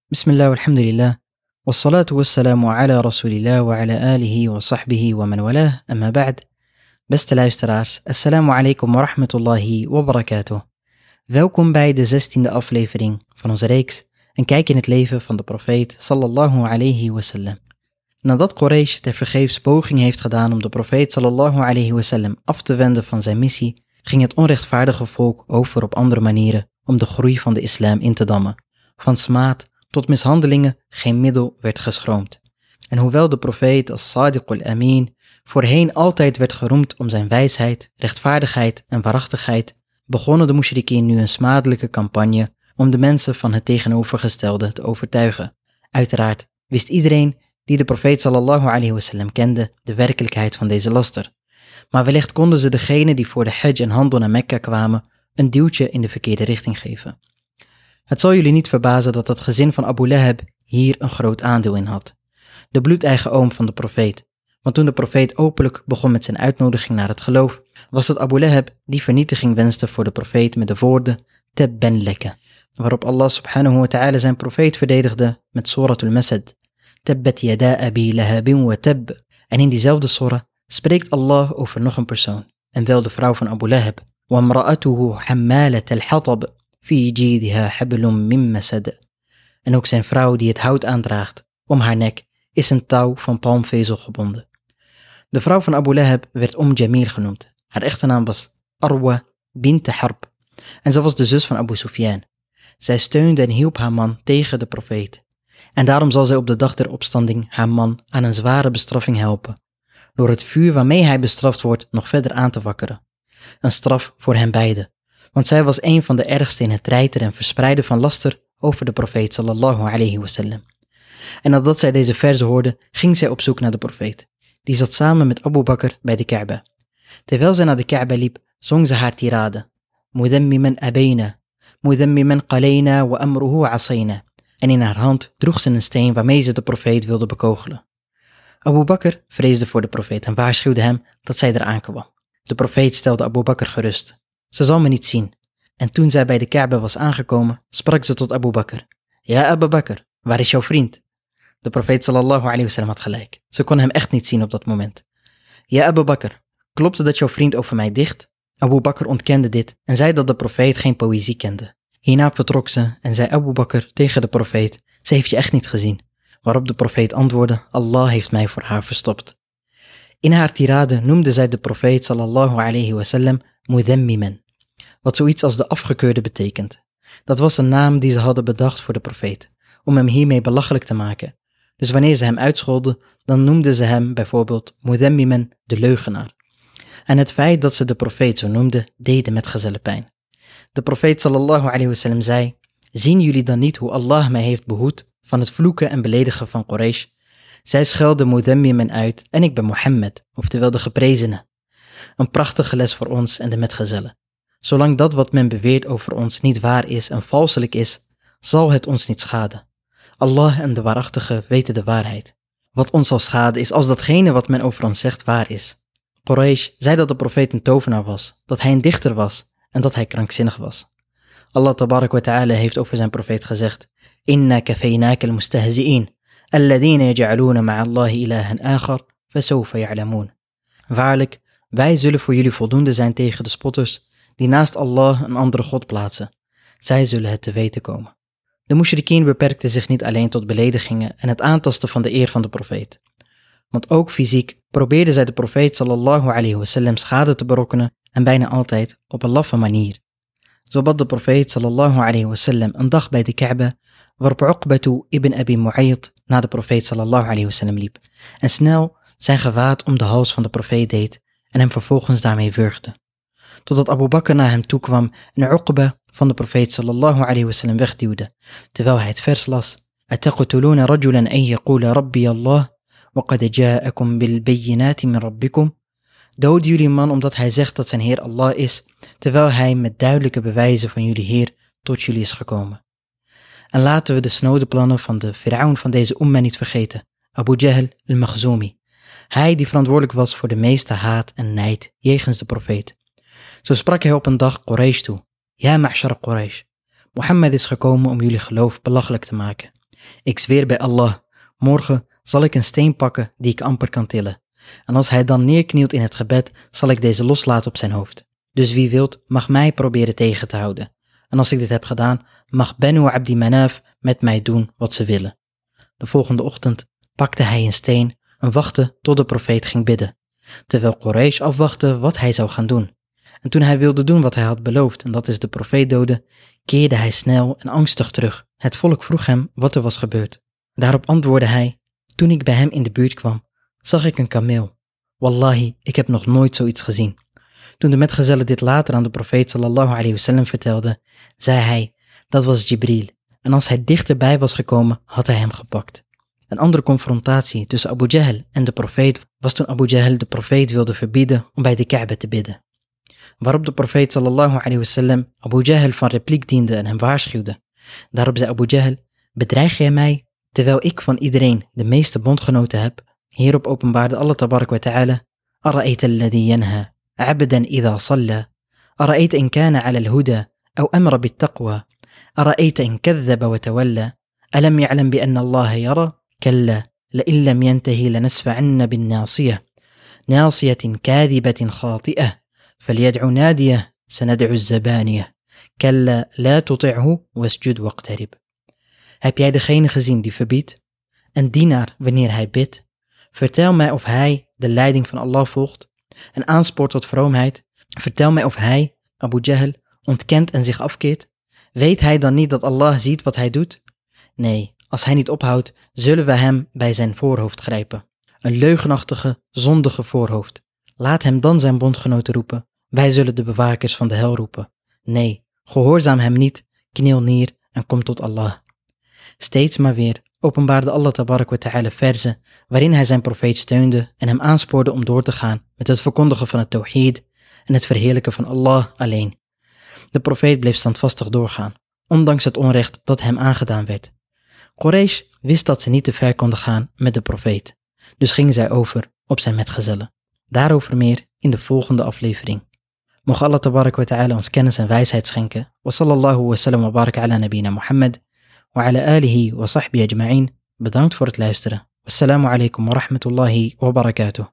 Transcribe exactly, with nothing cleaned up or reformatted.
Bismillah walhamdulillah, wassalatu wassalamu ala rasulillah wa ala alihi wa sahbihi wa man walah, amma ba'd. Beste luisteraars, assalamu alaikum wa rahmatullahi wa barakatuh. Welkom bij de zestiende aflevering van onze reeks Een kijk in het leven van de profeet sallallahu alayhi wasallam. Nadat Quraysh tevergeefs poging heeft gedaan om de profeet sallallahu alayhi wasallam af te wenden van zijn missie, ging het onrechtvaardige volk over op andere manieren om de groei van de islam in te dammen. Van smaad tot mishandelingen geen middel werd geschroomd. En hoewel de profeet als Sadiq al-Amin voorheen altijd werd geroemd om zijn wijsheid, rechtvaardigheid en waarachtigheid, begonnen de mushrikeen nu een smadelijke campagne om de mensen van het tegenovergestelde te overtuigen. Uiteraard wist iedereen die de profeet sallallahu alayhi wasallam kende de werkelijkheid van deze laster. Maar wellicht konden ze degene die voor de hajj en handel naar Mekka kwamen een duwtje in de verkeerde richting geven. Het zal jullie niet verbazen dat het gezin van Abu Lahab hier een groot aandeel in had. De bloedeigen oom van de profeet. Want toen de profeet openlijk begon met zijn uitnodiging naar het geloof, was het Abu Lahab die vernietiging wenste voor de profeet met de woorden Tabban laka, waarop Allah subhanahu wa ta'ala zijn profeet verdedigde met Suratul Masad. Tabbat yada abi lahabin wa tab. En in diezelfde surah spreekt Allah over nog een persoon, en wel de vrouw van Abu Lahab. Wa mra'atuhu hammalat al-hatab. Fi jidiha hablum min masad. En ook zijn vrouw die het hout aandraagt om haar nek is een touw van palmvezel gebonden. De vrouw van Abu Lahab werd Om Jamil genoemd. Haar echte naam was Arwa bint Harb en ze was de zus van Abu Sufyan. Zij steunde en hielp haar man tegen de profeet. En daarom zal zij op de dag der opstanding haar man aan een zware bestraffing helpen, door het vuur waarmee hij bestraft wordt nog verder aan te wakkeren. Een straf voor hen beiden. Want zij was een van de ergste in het treiteren en verspreiden van laster over de profeet sallallahu alayhi wasallam. En nadat zij deze verzen hoorde, ging zij op zoek naar de profeet. Die zat samen met Abu Bakr bij de Kaaba. Terwijl zij naar de Kaaba liep, zong ze haar tirade. Mudammiman abayna, mudammiman qalayna wa amruhu asayna. En in haar hand droeg ze een steen waarmee ze de profeet wilde bekogelen. Abu Bakr vreesde voor de profeet en waarschuwde hem dat zij eraan kwam. De profeet stelde Abu Bakr gerust. Ze zal me niet zien. En toen zij bij de Kaaba was aangekomen, sprak ze tot Abu Bakr. Ja, Abu Bakr, waar is jouw vriend? De profeet sallallahu alayhi wasallam had gelijk. Ze kon hem echt niet zien op dat moment. Ja, Abu Bakr, klopt het dat jouw vriend over mij dicht? Abu Bakr ontkende dit en zei dat de profeet geen poëzie kende. Hierna vertrok ze en zei Abu Bakr tegen de profeet, ze heeft je echt niet gezien. Waarop de profeet antwoordde, Allah heeft mij voor haar verstopt. In haar tirade noemde zij de profeet sallallahu alayhi wasallam Mudammiman, wat zoiets als de afgekeurde betekent. Dat was een naam die ze hadden bedacht voor de profeet, om hem hiermee belachelijk te maken. Dus wanneer ze hem uitscholden, dan noemden ze hem bijvoorbeeld Mudammiman, de leugenaar. En het feit dat ze de profeet zo noemden, deed de metgezellen pijn. De profeet sallallahu alayhi wasallam zei, zien jullie dan niet hoe Allah mij heeft behoed van het vloeken en beledigen van Quraysh? Zij schelden Mudammiman uit en ik ben Mohammed, oftewel de geprezene. Een prachtige les voor ons en de metgezellen. Zolang dat wat men beweert over ons niet waar is en valselijk is, zal het ons niet schaden. Allah en de waarachtige weten de waarheid. Wat ons zal schaden is als datgene wat men over ons zegt waar is. Quraysh zei dat de profeet een tovenaar was, dat hij een dichter was en dat hij krankzinnig was. Allah tabarak wa ta'ala heeft over zijn profeet gezegd, Inna kafeynaka al-mustahzi'in, alladhina yaj'aluna ma'a Allahi ilahan akhar, fasawfa ya'lamun. Waarlijk, wij zullen voor jullie voldoende zijn tegen de spotters die naast Allah een andere God plaatsen. Zij zullen het te weten komen. De mushrikeen beperkten zich niet alleen tot beledigingen en het aantasten van de eer van de profeet. Want ook fysiek probeerden zij de profeet sallallahu alayhi wasallam schade te berokkenen en bijna altijd op een laffe manier. Zo bad de profeet sallallahu alayhi wasallam een dag bij de Kaaba, waarop Uqbatu ibn Abi Mu'ayt naar de profeet sallallahu alayhi wasallam liep en snel zijn gewaad om de hals van de profeet deed en hem vervolgens daarmee wurgde. Totdat Abu Bakr naar hem toe kwam en Uqba van de profeet sallallahu alayhi wasallam wegduwde, terwijl hij het vers las. Ataqtuluna rajulan an yaqula rabbi Allah wa qad ja'akum bil bayyinati min rabbikum. Doden jullie een man omdat hij zegt dat zijn Heer Allah is, terwijl hij met duidelijke bewijzen van jullie Heer tot jullie is gekomen. En laten we de snode plannen van de Firaun van deze umma niet vergeten, Abu Jahl al-Makhzumi. Hij die verantwoordelijk was voor de meeste haat en nijd jegens de profeet. Zo sprak hij op een dag Quraysh toe. Ja, ma'shar Quraysh, Mohammed is gekomen om jullie geloof belachelijk te maken. Ik zweer bij Allah, morgen zal ik een steen pakken die ik amper kan tillen. En als hij dan neerknielt in het gebed, zal ik deze loslaten op zijn hoofd. Dus wie wilt, mag mij proberen tegen te houden. En als ik dit heb gedaan, mag Banu Abdi Manaf met mij doen wat ze willen. De volgende ochtend pakte hij een steen en wachtte tot de profeet ging bidden, terwijl Quraysh afwachtte wat hij zou gaan doen. En toen hij wilde doen wat hij had beloofd, en dat is de profeet doden, keerde hij snel en angstig terug. Het volk vroeg hem wat er was gebeurd. Daarop antwoordde hij, toen ik bij hem in de buurt kwam, zag ik een kameel. Wallahi, ik heb nog nooit zoiets gezien. Toen de metgezellen dit later aan de profeet sallallahu alayhi wasallam vertelde, zei hij, dat was Jibril. En als hij dichterbij was gekomen, had hij hem gepakt. Een andere confrontatie tussen Abu Jahl en de profeet was toen Abu Jahl de profeet wilde verbieden om bij de Kaaba te bidden. Waarop de profeet sallallahu alayhi wasallam Abu Jahl van repliek diende en hem waarschuwde. Daarop zei Abu Jahl, bedreig jij mij, terwijl ik van iedereen de meeste bondgenoten heb? Hierop openbaarde Allah tabarak wa ta'ala, Ara'ayta alladhi yanha, abdan idha salla, Ara'ayta in kana ala al-huda, aw amra bit-taqwa, Ara'ayta in kadhaba wa tawalla, alam ya'lam bi anna Allah yara, kalla, la'in lam yantahi lanasfa'anna bin-nasiyah, nasiyatin kadhibatin khati'ah, فليدع ناديه سندع الزبانية كلا لا تطعه واسجد واقترب. Heb jij degene gezien die verbiedt? Een dienaar wanneer hij bidt? Vertel mij of hij de leiding van Allah volgt en aanspoort tot vroomheid. Vertel mij of hij, Abu Jahl, ontkent en zich afkeert. Weet hij dan niet dat Allah ziet wat hij doet? Nee, als hij niet ophoudt, zullen we hem bij zijn voorhoofd grijpen. Een leugenachtige, zondige voorhoofd. Laat hem dan zijn bondgenoten roepen. Wij zullen de bewakers van de hel roepen. Nee, gehoorzaam hem niet, kniel neer en kom tot Allah. Steeds maar weer openbaarde Allah tabarak wa ta'ala verzen waarin hij zijn profeet steunde en hem aanspoorde om door te gaan met het verkondigen van het tawhid en het verheerlijken van Allah alleen. De profeet bleef standvastig doorgaan, ondanks het onrecht dat hem aangedaan werd. Quraysh wist dat ze niet te ver konden gaan met de profeet, dus ging zij over op zijn metgezellen. Daarover meer in de volgende aflevering. Mocht Allah tabarak wa ta'ala ons kennis en wijsheid schenken. Wa sallallahu wa sallam wa barak ala nabina Muhammad. Wa ala alihi wa sahbihi ajma'in. Bedankt voor het luisteren. Wassalamu alaikum wa rahmatullahi wa barakatuh.